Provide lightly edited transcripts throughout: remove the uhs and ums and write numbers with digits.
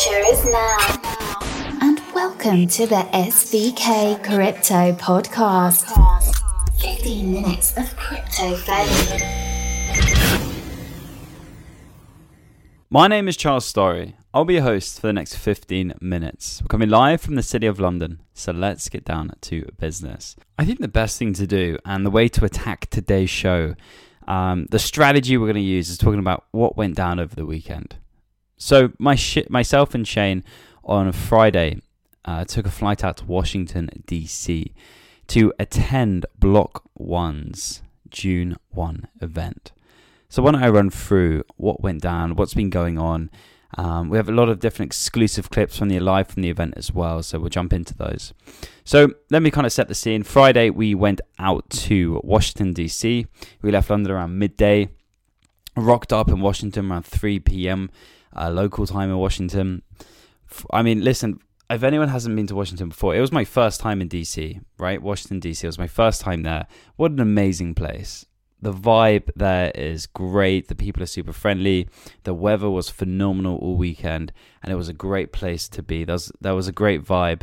future is now. And welcome to the SVK Crypto Podcast. 15 minutes of crypto value. My name is Charles Story. I'll be your host for the next 15 minutes. We're coming live from the City of London, so let's get down to business. I think the best thing to do and the way to attack today's show, the strategy we're going to use is talking about what went down over the weekend. So myself and Shane on Friday took a flight out to Washington, D.C. to attend Block 1's June 1 event. So why don't I run through what went down, what's been going on. We have a lot of different exclusive clips from the event as well, so we'll jump into those. So let me kind of set the scene. Friday, we went out to Washington, D.C. We left London around midday, rocked up in Washington around 3 p.m. Local time in Washington. I mean, listen, if anyone hasn't been to Washington before, it was my first time in D.C., right? Washington, D.C. was my first time there. What an amazing place. The vibe there is great. The people are super friendly. The weather was phenomenal all weekend, and it was a great place to be. There was a great vibe,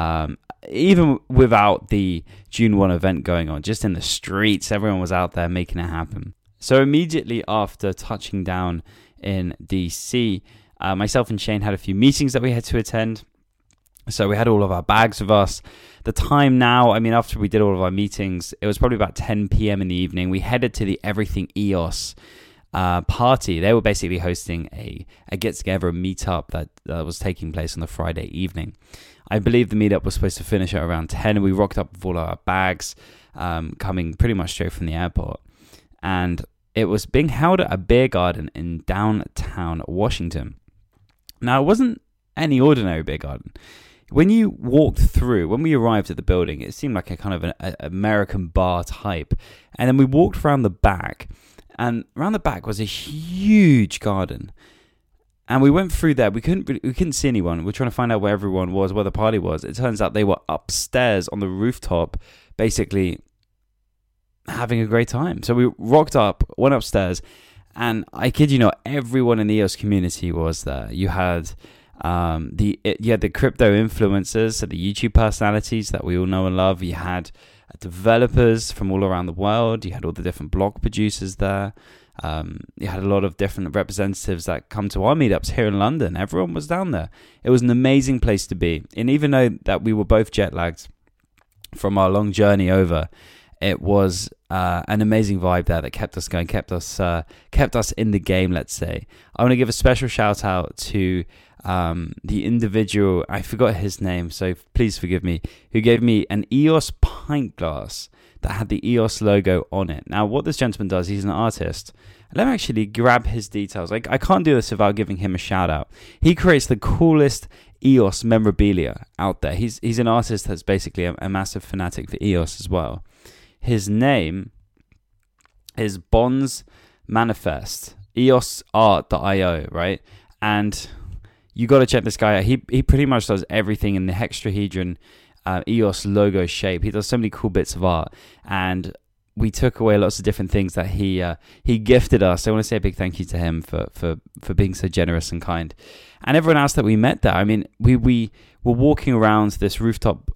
even without the June 1 event going on. Just in the streets, everyone was out there making it happen. So immediately after touching down in DC, myself and Shane had a few meetings that we had to attend. So we had all of our bags with us. The time now, I mean, after we did all of our meetings, it was probably about 10 p.m. in the evening. We headed to the Everything EOS party. They were basically hosting a get-together, a meetup that was taking place on the Friday evening. I believe the meetup was supposed to finish at around 10. We rocked up with all our bags, coming pretty much straight from the airport. And it was being held at a beer garden in downtown Washington. Now, it wasn't any ordinary beer garden. When you walked through, when we arrived at the building, it seemed like a kind of an American bar type. And then we walked around the back, and around the back was a huge garden. And we went through there. We couldn't see anyone. We were trying to find out where everyone was, where the party was. It turns out they were upstairs on the rooftop, basically having a great time. So we rocked up, went upstairs, and I kid you not, everyone in the EOS community was there. You had the crypto influencers, so the YouTube personalities that we all know and love. You had developers from all around the world. You had all the different blog producers there. You had a lot of different representatives that come to our meetups here in London. Everyone was down there. It was an amazing place to be. And even though that we were both jet lagged from our long journey over, it was an amazing vibe there that kept us going, kept us in the game, let's say. I want to give a special shout out to the individual, I forgot his name, so please forgive me, who gave me an EOS pint glass that had the EOS logo on it. Now, what this gentleman does, he's an artist. Let me actually grab his details. I can't do this without giving him a shout out. He creates the coolest EOS memorabilia out there. He's an artist that's basically a massive fanatic for EOS as well. His name is Bonds Manifest, EOSart.io, right? And you got to check this guy out. He pretty much does everything in the hexahedron EOS logo shape. He does so many cool bits of art, and we took away lots of different things that he gifted us. I want to say a big thank you to him for being so generous and kind. And everyone else that we met there. I mean, we were walking around this rooftop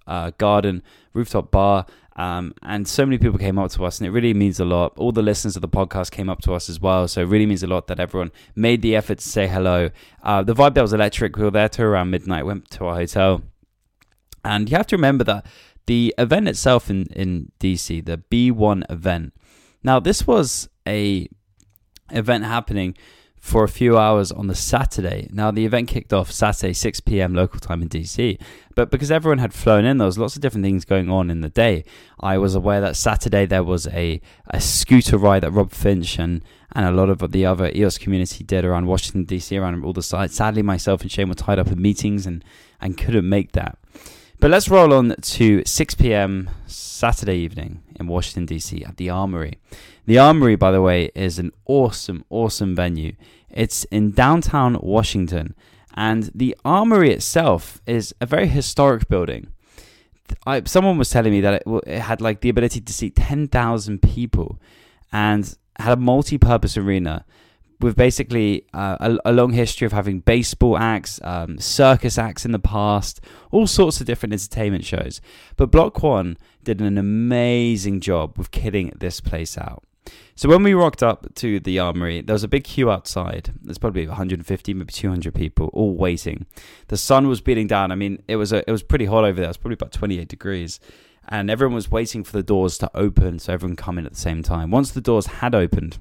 bar, and so many people came up to us, and it really means a lot. All the listeners of the podcast came up to us as well, so it really means a lot that everyone made the effort to say hello. The vibe there was electric. We were there till around midnight, went to our hotel, and you have to remember that the event itself in DC, the B1 event, now this was a event happening for a few hours on the Saturday. Now, the event kicked off Saturday, 6 p.m. local time in DC. But because everyone had flown in, there was lots of different things going on in the day. I was aware that Saturday there was a scooter ride that Rob Finch and a lot of the other EOS community did around Washington, DC, around all the sites. Sadly, myself and Shane were tied up in meetings and couldn't make that. But let's roll on to 6 p.m. Saturday evening in Washington, D.C. at the Armory. The Armory, by the way, is an awesome, awesome venue. It's in downtown Washington, and the Armory itself is a very historic building. Someone was telling me that it had like the ability to seat 10,000 people and had a multi-purpose arena with basically a long history of having baseball acts, circus acts in the past, all sorts of different entertainment shows. But Block One did an amazing job with kitting this place out. So when we rocked up to the Armory, there was a big queue outside. There's probably 150, maybe 200 people all waiting. The sun was beating down. I mean, it was pretty hot over there. It was probably about 28 degrees. And everyone was waiting for the doors to open so everyone could come in at the same time. Once the doors had opened,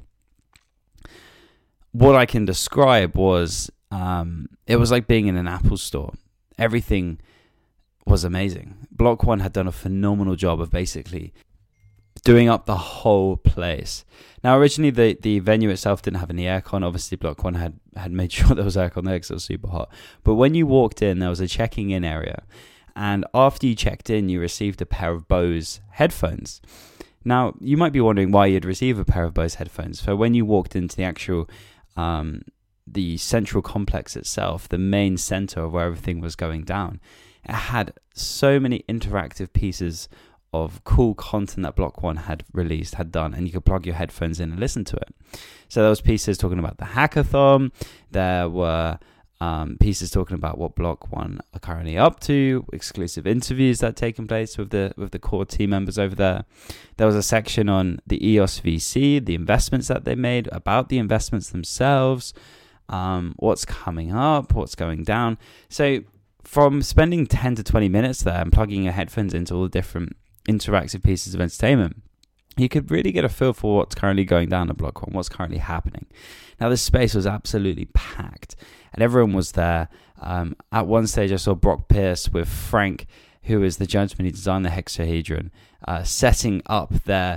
what I can describe was it was like being in an Apple store. Everything was amazing. Block One had done a phenomenal job of basically doing up the whole place. Now, originally, the venue itself didn't have any aircon. Obviously, Block One had made sure there was aircon there because it was super hot. But when you walked in, there was a checking in area. And after you checked in, you received a pair of Bose headphones. Now, you might be wondering why you'd receive a pair of Bose headphones. So when you walked into the actual, the central complex itself, the main center of where everything was going down, it had so many interactive pieces of cool content that Block One had done, and you could plug your headphones in and listen to it. So there was pieces talking about the hackathon. There were pieces talking about what Block One are currently up to, exclusive interviews that had taken place with the core team members over there. There was a section on the EOS VC, the investments that they made, about the investments themselves, what's coming up, what's going down. So from spending 10 to 20 minutes there and plugging your headphones into all the different interactive pieces of entertainment, you could really get a feel for what's currently going down at Block One, what's currently happening. Now, this space was absolutely packed, and everyone was there. At one stage, I saw Brock Pierce with Frank, who is the gentleman who designed the hexahedron, setting up their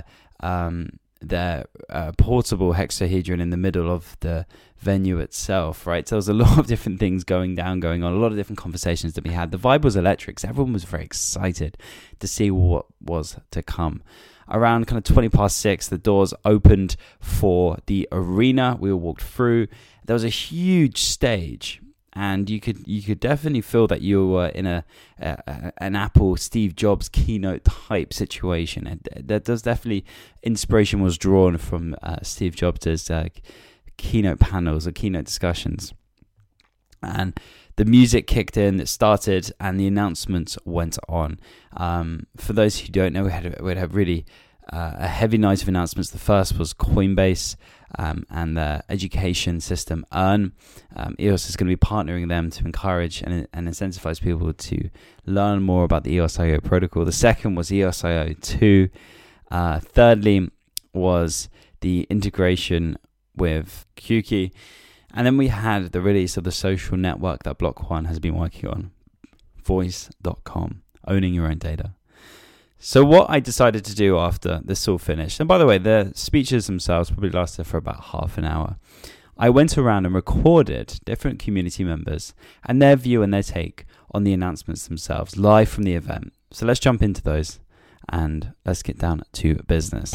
portable hexahedron in the middle of the venue itself, right? So there was a lot of different things going on, a lot of different conversations that we had. The vibe was electric, so everyone was very excited to see what was to come. Around kind of 20 past 6, the doors opened for the arena. We all walked through. There was a huge stage, and you could definitely feel that you were in an Apple Steve Jobs keynote type situation. And that does definitely, inspiration was drawn from Steve Jobs' keynote panels or keynote discussions. And the music kicked in, it started, and the announcements went on. For those who don't know, we had really a heavy night of announcements. The first was Coinbase and their education system, Earn. EOS is going to be partnering them to encourage and incentivize people to learn more about the EOS.io protocol. The second was EOS.io 2. Thirdly was the integration with Qkey. And then we had the release of the social network that Block One has been working on, Voice.com, owning your own data. So what I decided to do after this all finished, and by the way, the speeches themselves probably lasted for about half an hour. I went around and recorded different community members and their view and their take on the announcements themselves, live from the event. So let's jump into those and let's get down to business.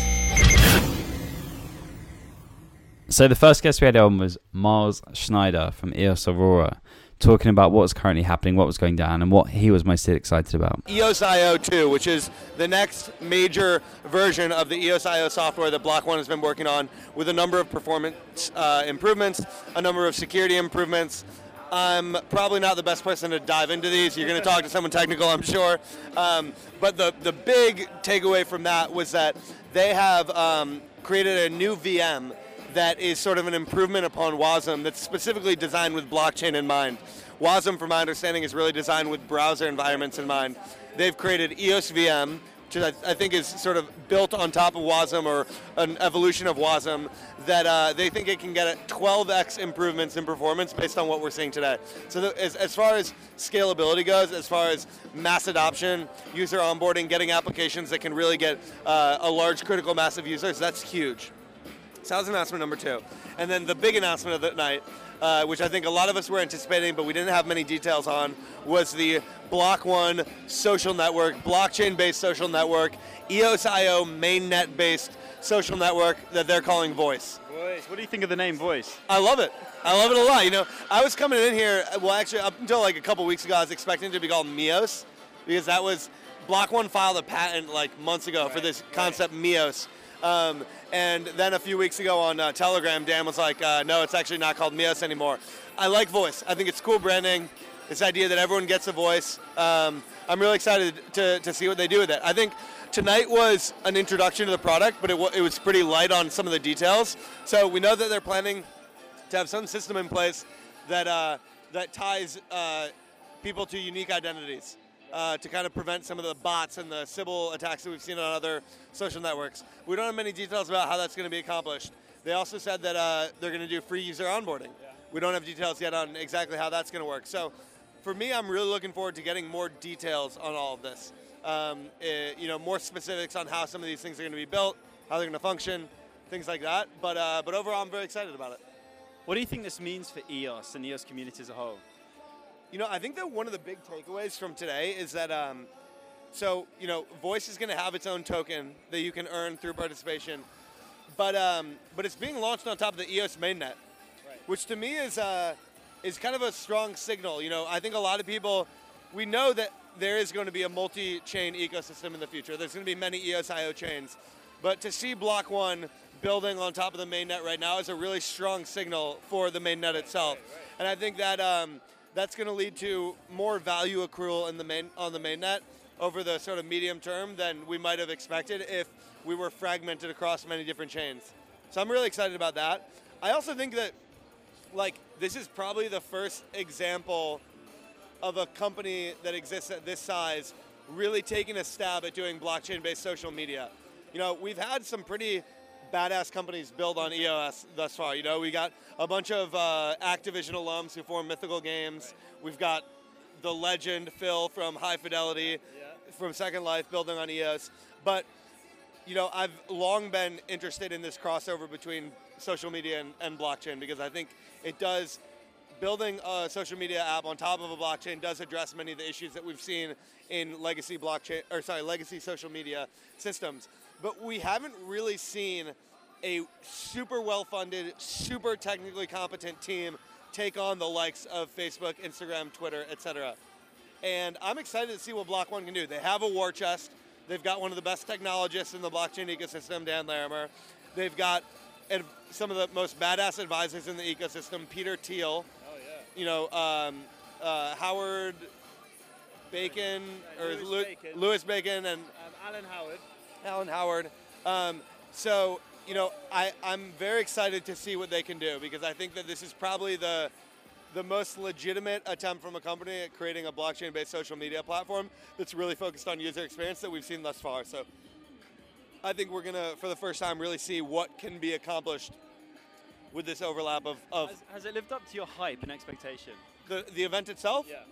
So the first guest we had on was Miles Schneider from EOS Aurora, talking about what was currently happening, what was going down, and what he was most excited about. EOS.io 2, which is the next major version of the EOS.io software that Block One has been working on, with a number of performance improvements, a number of security improvements. I'm probably not the best person to dive into these. You're going to talk to someone technical, I'm sure. But the big takeaway from that was that they have created a new VM that is sort of an improvement upon WASM that's specifically designed with blockchain in mind. WASM, from my understanding, is really designed with browser environments in mind. They've created EOS VM, which I think is sort of built on top of WASM, or an evolution of WASM, that they think it can get at 12x improvements in performance based on what we're seeing today. So as far as scalability goes, as far as mass adoption, user onboarding, getting applications that can really get a large critical mass of users, that's huge. So that was announcement number 2. And then the big announcement of the night, which I think a lot of us were anticipating, but we didn't have many details on, was the Block One social network, blockchain-based social network, EOS.io mainnet-based social network that they're calling Voice. Voice. What do you think of the name Voice? I love it. I love it a lot. You know, I was coming in here, well, actually, up until like a couple weeks ago, I was expecting it to be called Mios, because that was, Block One filed a patent like months ago for this concept Mios. And then a few weeks ago on Telegram, Dan was like, no, it's actually not called Mios anymore. I like voice. I think it's cool branding. This idea that everyone gets a voice. I'm really excited to see what they do with it. I think tonight was an introduction to the product, but it was pretty light on some of the details. So we know that they're planning to have some system in place that ties people to unique identities to kind of prevent some of the bots and the Sybil attacks that we've seen on other social networks. We don't have many details about how that's going to be accomplished. They also said that they're going to do free user onboarding. Yeah. We don't have details yet on exactly how that's going to work. So for me, I'm really looking forward to getting more details on all of this. More specifics on how some of these things are going to be built, how they're going to function, things like that. But overall, I'm very excited about it. What do you think this means for EOS and EOS community as a whole? I think that one of the big takeaways from today is that, Voice is going to have its own token that you can earn through participation, but it's being launched on top of the EOS mainnet, right, which to me is kind of a strong signal. I think a lot of people, we know that there is going to be a multi-chain ecosystem in the future. There's going to be many EOS.io chains, but to see Block One building on top of the mainnet right now is a really strong signal for the mainnet itself, right. And I think that. That's going to lead to more value accrual on the mainnet over the sort of medium term than we might have expected if we were fragmented across many different chains. So I'm really excited about that. I also think that this is probably the first example of a company that exists at this size really taking a stab at doing blockchain-based social media. We've had some pretty badass companies build on EOS thus far. We got a bunch of Activision alums who form Mythical Games. Right. We've got the legend Phil from High Fidelity, from Second Life, building on EOS. But I've long been interested in this crossover between social media and blockchain, because I think it does. Building a social media app on top of a blockchain does address many of the issues that we've seen in legacy social media systems. But we haven't really seen a super well-funded, super technically competent team take on the likes of Facebook, Instagram, Twitter, etc. And I'm excited to see what Block One can do. They have a war chest. They've got one of the best technologists in the blockchain ecosystem, Dan Larimer. They've got some of the most badass advisors in the ecosystem, Peter Thiel. Howard Bacon, Lewis Bacon, and Alan Howard. I'm very excited to see what they can do, because I think that this is probably the most legitimate attempt from a company at creating a blockchain-based social media platform that's really focused on user experience that we've seen thus far. So I think we're going to, for the first time, really see what can be accomplished with this overlap of Has it lived up to your hype and expectation? The event itself? Yeah.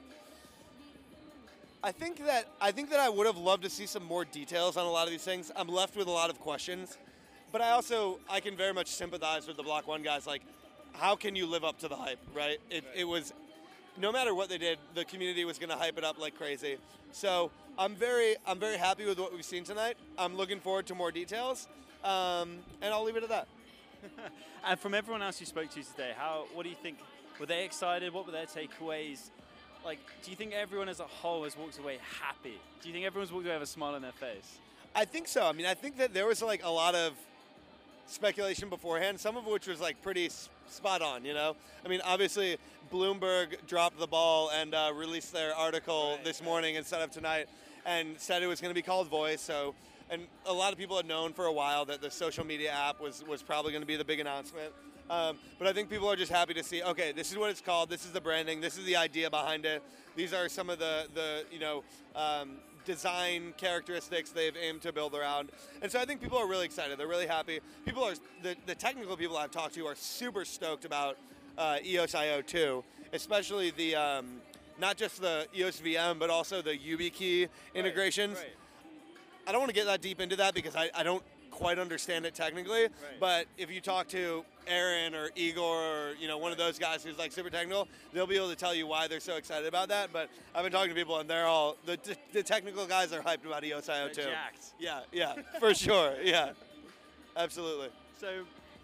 I think that I would have loved to see some more details on a lot of these things. I'm left with a lot of questions, but I can very much sympathize with the Block One guys. Like, how can you live up to the hype, right? It was, no matter what they did, the community was going to hype it up like crazy. So I'm very happy with what we've seen tonight. I'm looking forward to more details, and I'll leave it at that. And from everyone else you spoke to today, what do you think? Were they excited? What were their takeaways? Do you think everyone as a whole has walked away happy? Do you think everyone's walked away with a smile on their face? I think so. I mean, I think that there was a lot of speculation beforehand, some of which was pretty spot on, I mean, obviously Bloomberg dropped the ball and released their article this morning instead of tonight, and said it was going to be called Voice. So, and a lot of people had known for a while that the social media app was probably going to be the big announcement. But I think people are just happy to see, okay, this is what it's called, this is the branding, this is the idea behind it. These are some of the design characteristics they've aimed to build around. And so I think people are really excited. They're really happy. The technical people I've talked to are super stoked about EOS.io 2, especially the not just the EOS VM, but also the YubiKey integrations. Right. I don't want to get that deep into that because I don't quite understand it technically, right. But if you talk to Aaron or Igor or one of those guys who's super technical, they'll be able to tell you why they're so excited about that. But I've been talking to people and they're all the technical guys are hyped about EOS.io 2. Jacked. Yeah, for sure. Yeah, absolutely. So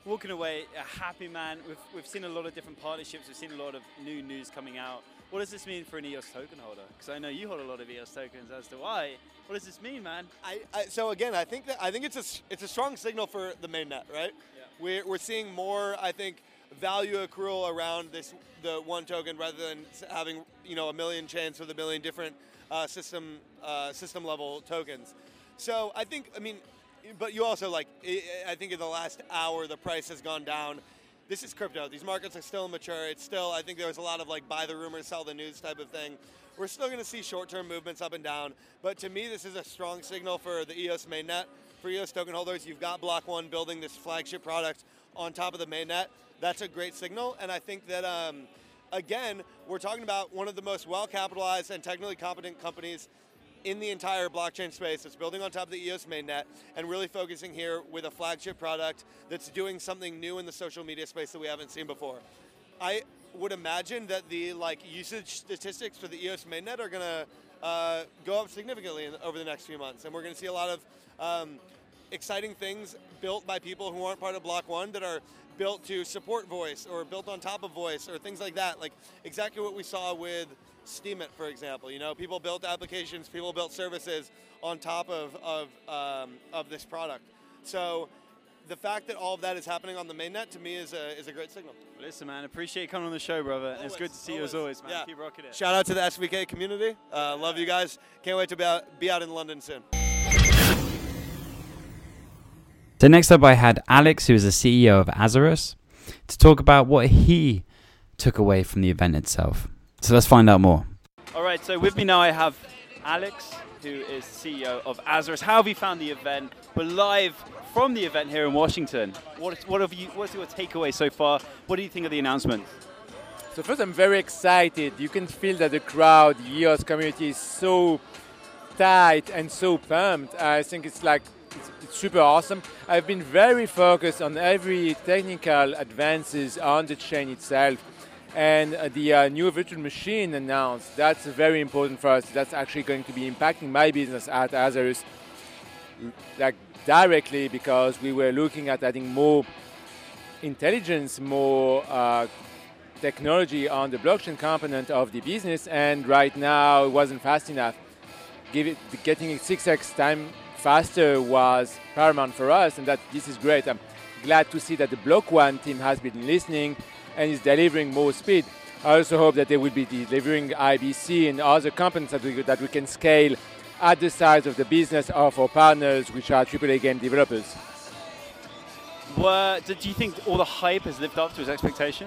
walking away a happy man. We've seen a lot of different partnerships. We've seen a lot of new news coming out. What does this mean for an EOS token holder? Because I know you hold a lot of EOS tokens, as do I. What does this mean, man? So again, I think it's a strong signal for the mainnet, right? Yeah. We're seeing more, I think, value accrual around the one token rather than having a million chains with a million different system level tokens. So I think, but you also I think in the last hour the price has gone down. This is crypto. These markets are still immature. It's still, I think there was a lot of buy the rumor, sell the news type of thing. We're still going to see short-term movements up and down. But to me, this is a strong signal for the EOS mainnet. For EOS token holders, you've got Block One building this flagship product on top of the mainnet. That's a great signal. And I think that, again, we're talking about one of the most well-capitalized and technically competent companies in the entire blockchain space. It's building on top of the EOS mainnet and really focusing here with a flagship product that's doing something new in the social media space that we haven't seen before. I would imagine that the usage statistics for the EOS mainnet are going to go up significantly over the next few months, and we're going to see a lot of exciting things built by people who aren't part of Block One that are built to support voice or built on top of voice or things like that, like exactly what we saw with Steemit, for example. People built applications, people built services on top of this product. So the fact that all of that is happening on the mainnet, to me, is a great signal. Well, listen, man, appreciate you coming on the show, brother. Always, it's good to see you as always, man. Yeah. Keep rocking it. Shout out to the SVK community. Love you guys. Can't wait to be out in London soon. So next up, I had Alex, who is the CEO of Azarus, to talk about what he took away from the event itself. So let's find out more. All right, so with me now I have Alex, who is CEO of Azarus. How have you found the event? We're live from the event here in Washington. What's your takeaway so far? What do you think of the announcement? So first, I'm very excited. You can feel that the crowd, the EOS community is so tight and so pumped. I think it's super awesome. I've been very focused on every technical advances on the chain itself. And the new virtual machine announced, that's very important for us. That's actually going to be impacting my business at Azarus directly, because we were looking at adding more intelligence, more technology on the blockchain component of the business, and right now it wasn't fast enough. Getting it 6x time faster was paramount for us, and this is great. I'm glad to see that the Block One team has been listening and is delivering more speed. I also hope that they will be delivering IBC and other components that we can scale at the size of the business of our partners, which are AAA game developers. Do you think all the hype has lived up to his expectation?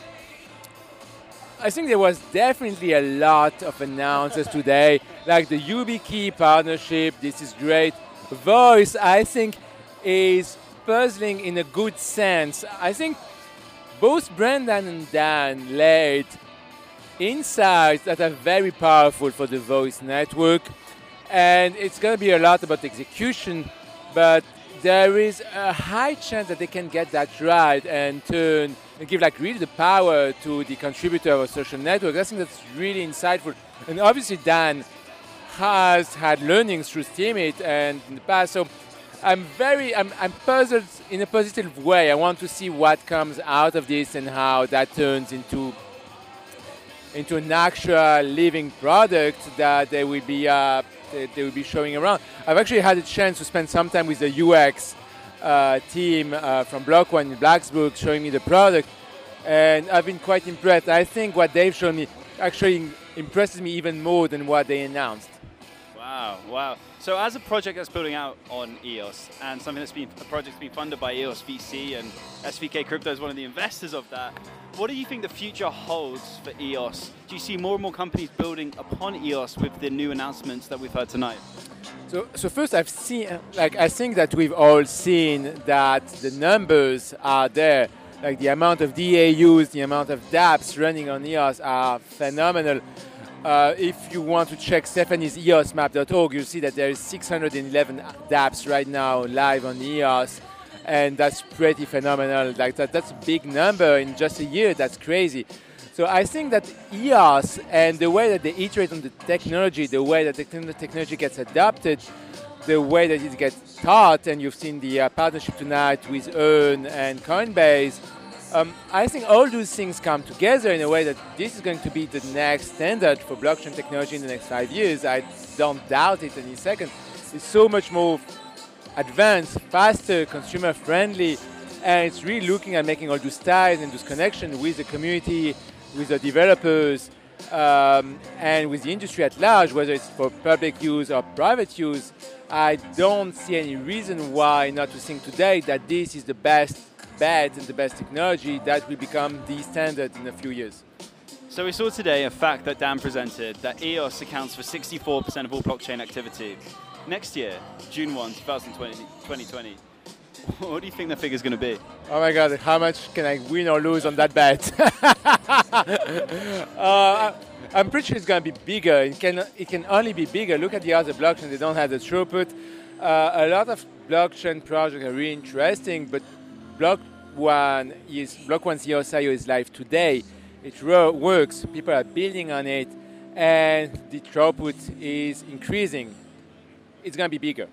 I think there was definitely a lot of announcements today, like the YubiKey partnership. This is great. Voice, I think, is puzzling in a good sense. I think both Brendan and Dan laid insights that are very powerful for the Voice network, and it's going to be a lot about execution, but there is a high chance that they can get that right and give really the power to the contributor of a social network. I think that's really insightful. And obviously Dan has had learnings through Steemit and in the past, so I'm puzzled in a positive way. I want to see what comes out of this and how that turns into an actual living product that they will be showing around. I've actually had a chance to spend some time with the UX team from Block One in Blacksburg showing me the product, and I've been quite impressed. I think what they've shown me actually impresses me even more than what they announced. Wow. So as a project that's building out on EOS, and a project that's been funded by EOS VC, and SVK Crypto is one of the investors of that, what do you think the future holds for EOS? Do you see more and more companies building upon EOS with the new announcements that we've heard tonight? So first, I think that we've all seen that the numbers are there. Like the amount of DAUs, the amount of dApps running on EOS are phenomenal. If you want to check Stephanie's eosmap.org, you'll see that there is 611 dApps right now live on EOS, and that's pretty phenomenal. That's a big number in just a year. That's crazy. So I think that EOS and the way that they iterate on the technology, the way that the technology gets adopted, the way that it gets taught, and you've seen the partnership tonight with Earn and Coinbase, I think all those things come together in a way that this is going to be the next standard for blockchain technology in the next 5 years. I don't doubt it any second. It's so much more advanced, faster, consumer-friendly, and it's really looking at making all those ties and those connections with the community, with the developers, and with the industry at large, whether it's for public use or private use. I don't see any reason why not to think today that this is the best bet and the best technology that will become the standard in a few years. So we saw today a fact that Dan presented, that EOS accounts for 64% of all blockchain activity. Next year, June 1, 2020, what do you think the figure's going to be? Oh my God, how much can I win or lose on that bet? I'm pretty sure it's going to be bigger. It can only be bigger. Look at the other blockchains, they don't have the throughput. A lot of blockchain projects are really interesting, but Block One's EOS.io is live today. It works, people are building on it, and the throughput is increasing. It's going to be bigger.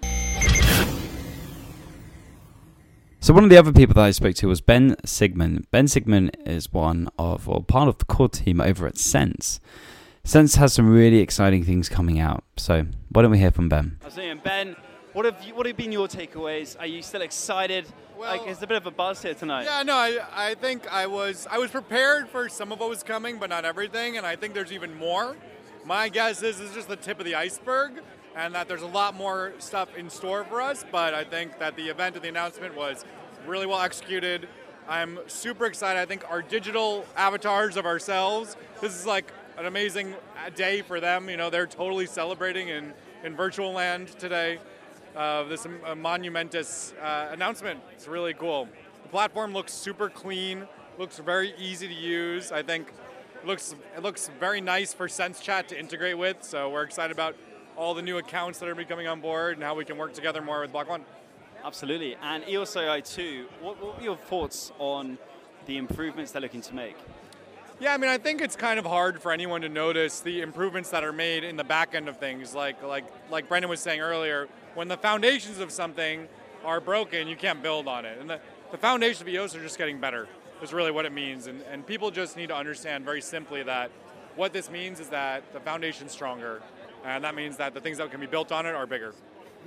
So one of the other people that I spoke to was Ben Sigmund. Ben Sigmund is part of the core team over at Sense. Sense has some really exciting things coming out. So why don't we hear from Ben? I was saying, Ben, what have been your takeaways? Are you still excited? Well, there's a bit of a buzz here tonight. Yeah, no, I think I was prepared for some of what was coming, but not everything, and I think there's even more. My guess is this is just the tip of the iceberg, and that there's a lot more stuff in store for us, but I think that the event and the announcement was really well executed. I'm super excited. I think our digital avatars of ourselves, this is like an amazing day for them. You know, they're totally celebrating in virtual land today. This monumentous announcement. It's really cool. The platform looks super clean, looks very easy to use. I think it looks very nice for SenseChat to integrate with, so we're excited about all the new accounts that are becoming on board and how we can work together more with Block One. Absolutely. And EOS.io 2, what were your thoughts on the improvements they're looking to make? Yeah, I mean, I think it's kind of hard for anyone to notice the improvements that are made in the back end of things. Like Brendan was saying earlier, when the foundations of something are broken, you can't build on it. And the foundations of EOS are just getting better, is really what it means. And people just need to understand very simply that what this means is that the foundation's stronger. And that means that the things that can be built on it are bigger.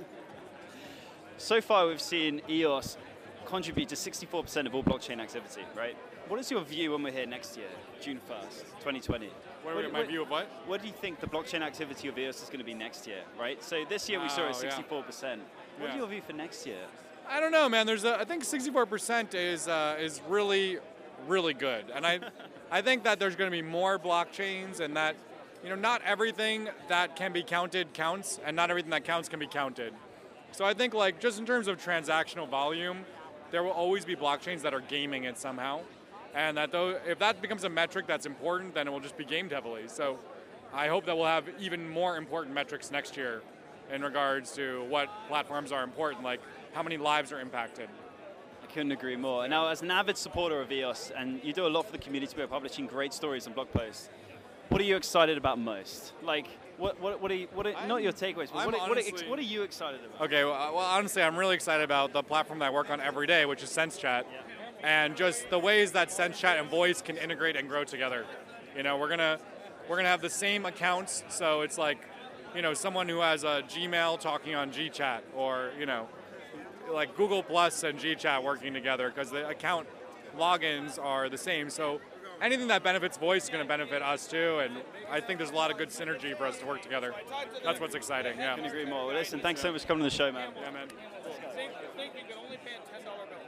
So far, we've seen EOS contribute to 64% of all blockchain activity, right? What is your view when we're here next year, June 1st, 2020? My view of what? What do you think the blockchain activity of EOS is going to be next year, right? So this year we saw it at 64%. What's your view for next year? I don't know, man. I think 64% is really, really good. And I think that there's going to be more blockchains, and that, you know, not everything that can be counted counts, and not everything that counts can be counted. So I think, like, just in terms of transactional volume, there will always be blockchains that are gaming it somehow. And that if that becomes a metric that's important, then it will just be gamed heavily. So I hope that we'll have even more important metrics next year in regards to what platforms are important, like how many lives are impacted. I couldn't agree more. And now, as an avid supporter of EOS, and you do a lot for the community by publishing great stories and blog posts, what are you excited about most? Like, what are not your takeaways, but what are you excited about? Okay, well, honestly, I'm really excited about the platform that I work on every day, which is SenseChat. Yeah. And just the ways that SenseChat and voice can integrate and grow together. You know, we're gonna have the same accounts, so it's like, you know, someone who has a Gmail talking on GChat, or, you know, like Google Plus and GChat working together, because the account logins are the same. So anything that benefits voice is going to benefit us too, and I think there's a lot of good synergy for us to work together. That's what's exciting. Yeah. I can agree more. Well, listen, thanks so much for coming to the show, man. Yeah, man. Think you can only pay $10 bills.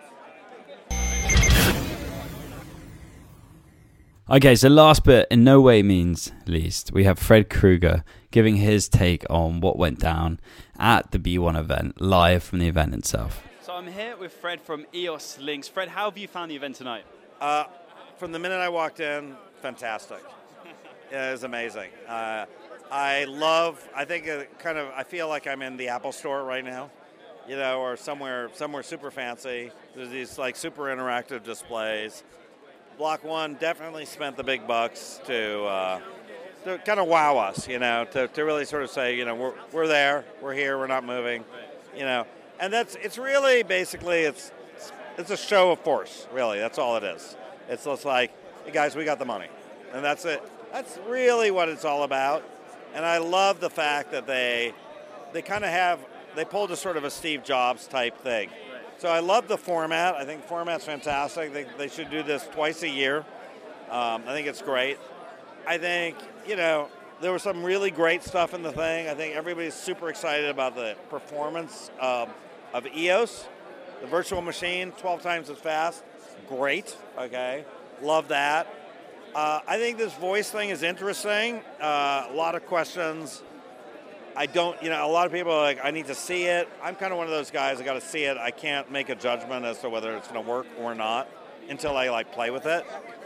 Okay, so last but in no way means least, we have Fred Krueger giving his take on what went down at the B1 event, live from the event itself. So I'm here with Fred from EOS Lynx. Fred, how have you found the event tonight? From the minute I walked in, fantastic. It was amazing. I feel like I'm in the Apple store right now, you know, or somewhere super fancy. There's these like super interactive displays. Block One definitely spent the big bucks to kind of wow us, you know, to really sort of say, you know, we're there, we're here, we're not moving. you know. And it's really basically it's a show of force, really. That's all it is. It's just like, hey guys, we got the money, and that's it. That's really what it's all about. And I love the fact that they kind of they pulled a sort of a Steve Jobs type thing. So I love the format. I think the format's fantastic. They should do this twice a year. I think it's great. I think, you know, there was some really great stuff in the thing. I think everybody's super excited about the performance of EOS. The virtual machine, 12 times as fast. Great, okay. Love that. I think this voice thing is interesting. A lot of questions. A lot of people are like, I need to see it. I'm kind of one of those guys, I got to see it. I can't make a judgment as to whether it's going to work or not until I play with it.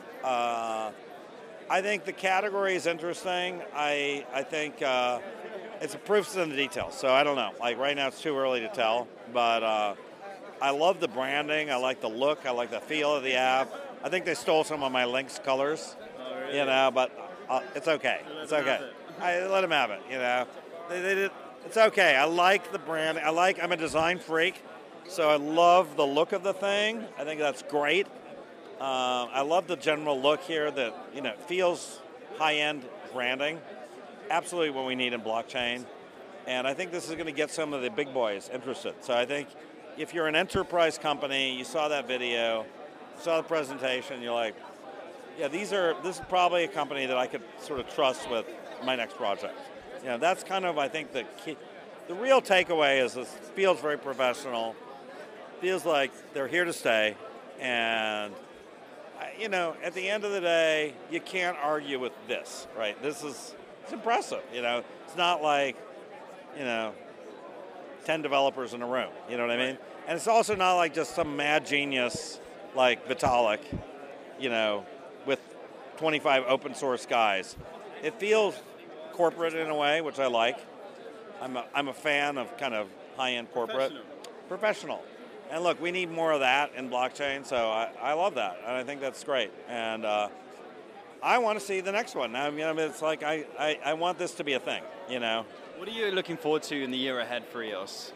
I think the category is interesting. I think it's a proofs in the details. So I don't know. Like right now it's too early to tell. But I love the branding. I like the look. I like the feel of the app. I think they stole some of my Lynx colors. Oh, really? You know, but it's okay. It's okay. I let them have it, you know. They did, it's okay. I like the brand. I'm a design freak, so I love the look of the thing. I think that's great. I love the general look here that, you know, feels high-end branding. Absolutely what we need in blockchain. And I think this is going to get some of the big boys interested. So I think if you're an enterprise company, you saw that video, you saw the presentation, you're like, yeah, this is probably a company that I could sort of trust with my next project. You know, that's kind of, I think, the key. The real takeaway is this feels very professional, feels like they're here to stay, and, you know, at the end of the day, you can't argue with this, right? It's impressive, you know. It's not like, you know, 10 developers in a room, you know what I mean? And it's also not like just some mad genius like Vitalik, you know, with 25 open source guys. It feels corporate in a way, which I like. I'm a fan of kind of high-end corporate. Professional. And look, we need more of that in blockchain, so I love that, and I think that's great. And I want to see the next one. I mean, it's like I want this to be a thing, you know. What are you looking forward to in the year ahead for EOS?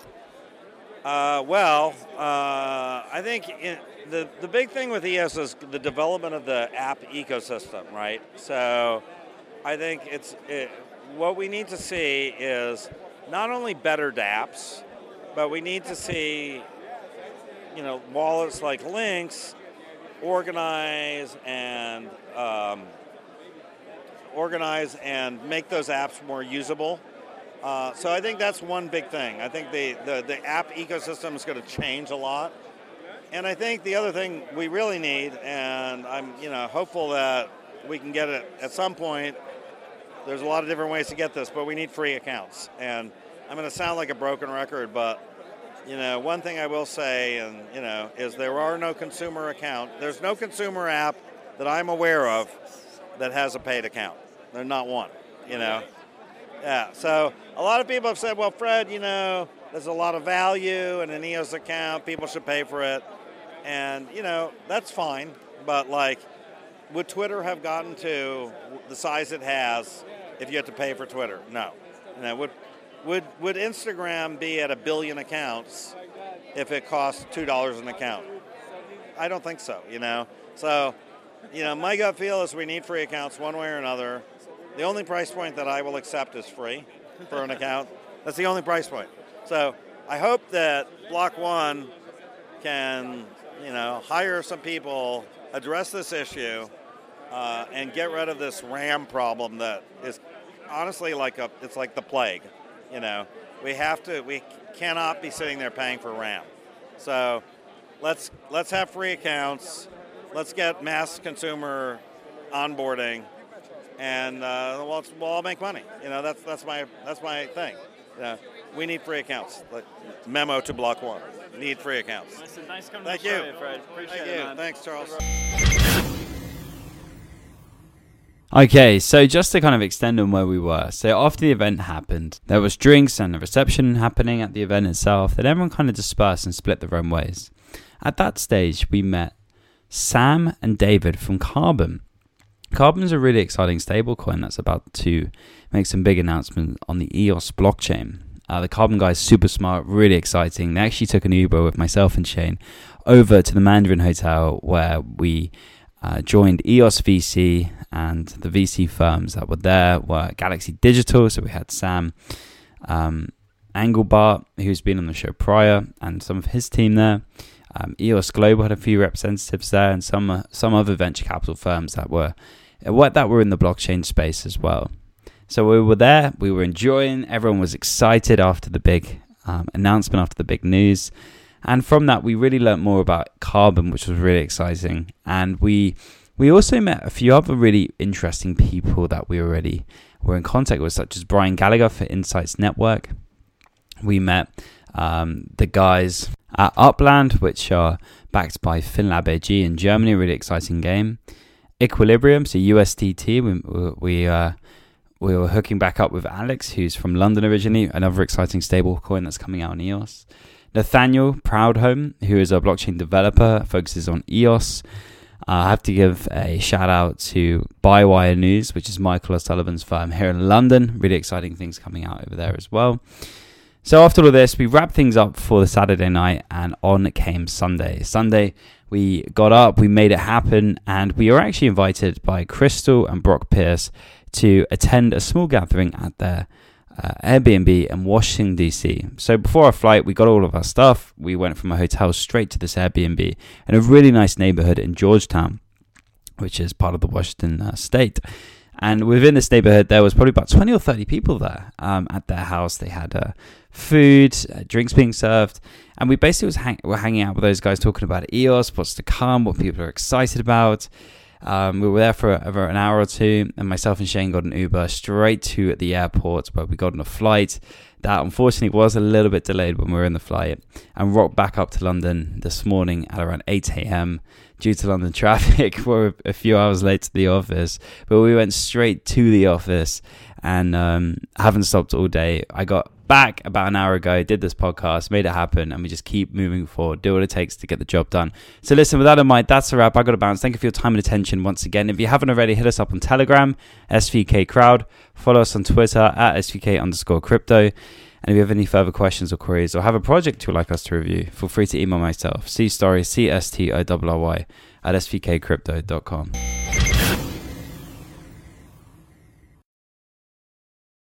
I think the big thing with EOS is the development of the app ecosystem, right? So I think what we need to see is not only better dApps, but we need to see, you know, wallets like Lynx organize and make those apps more usable. So I think that's one big thing. I think the app ecosystem is going to change a lot. And I think the other thing we really need, and I'm, you know, hopeful that we can get it at some point. There's a lot of different ways to get this, but we need free accounts. And I'm going to sound like a broken record, but, you know, one thing I will say, and, you know, is there's no consumer app that I'm aware of that has a paid account. There's not one, you know. Yeah, so a lot of people have said, well, Fred, you know, there's a lot of value in an EOS account. People should pay for it. And, you know, that's fine. But, like, would Twitter have gotten to the size it has if you had to pay for Twitter? No. You know, would Instagram be at 1 billion accounts if it cost $2 an account? I don't think so, you know. So, you know, my gut feel is we need free accounts one way or another. The only price point that I will accept is free for an account. That's the only price point. So I hope that Block One can, you know, hire some people, address this issue, and get rid of this RAM problem that is honestly it's like the plague. You know, we cannot be sitting there paying for RAM. So let's have free accounts. Let's get mass consumer onboarding, and we'll all make money. You know, that's my thing. You know, we need free accounts. Like, memo to Block One: need free accounts. Nice coming Thank to the you. show, Fred. Appreciate Thank it, you. man. Thanks, Charles. Okay, so just to kind of extend on where we were. So after the event happened, there was drinks and a reception happening at the event itself. Then everyone kind of dispersed and split their own ways. At that stage, we met Sam and David from Carbon. Carbon's a really exciting stablecoin that's about to make some big announcements on the EOS blockchain. The Carbon guys, super smart, really exciting. They actually took an Uber with myself and Shane over to the Mandarin Hotel, where we joined EOS VC, and the VC firms that were there were Galaxy Digital. So we had Sam Engelbart, who's been on the show prior, and some of his team there. EOS Global had a few representatives there, and some other venture capital firms that were in the blockchain space as well. So we were there, we were enjoying, everyone was excited after the big announcement, after the big news. And from that, we really learned more about Carbon, which was really exciting. And we also met a few other really interesting people that we already were in contact with, such as Brian Gallagher for Insights Network. We met the guys at Upland, which are backed by FinLab AG in Germany, a really exciting game. Equilibrium, so USDT, we were hooking back up with Alex, who's from London originally, another exciting stablecoin that's coming out on EOS. Nathaniel Proudhome, who is a blockchain developer, focuses on EOS. I have to give a shout out to Bywire News, which is Michael O'Sullivan's firm here in London. Really exciting things coming out over there as well. So after all of this, we wrapped things up for the Saturday night, and on came Sunday. Sunday, we got up, we made it happen, and we were actually invited by Crystal and Brock Pierce to attend a small gathering at their Airbnb in Washington, D.C. So before our flight, we got all of our stuff. We went from a hotel straight to this Airbnb in a really nice neighborhood in Georgetown, which is part of the Washington state. And within this neighborhood, there was probably about 20 or 30 people there at their house. They had food, drinks being served. And we basically were hanging out with those guys talking about EOS, what's to come, what people are excited about. We were there for over an hour or two, and myself and Shane got an Uber straight to the airport, where we got on a flight that unfortunately was a little bit delayed when we were in the flight, and rocked back up to London this morning at around 8 a.m. due to London traffic. We're a few hours late to the office, but we went straight to the office and haven't stopped all day. I got back about an hour ago, did this podcast, made it happen, and we just keep moving forward, do what it takes to get the job done. So listen, with that in mind, that's a wrap. I got to bounce. Thank you for your time and attention once again. If you haven't already, hit us up on Telegram, SVK Crowd. Follow us on Twitter at SVK_crypto. And if you have any further questions or queries, or have a project you would like us to review, feel free to email myself, cstory, CSTORY, at svkcrypto.com.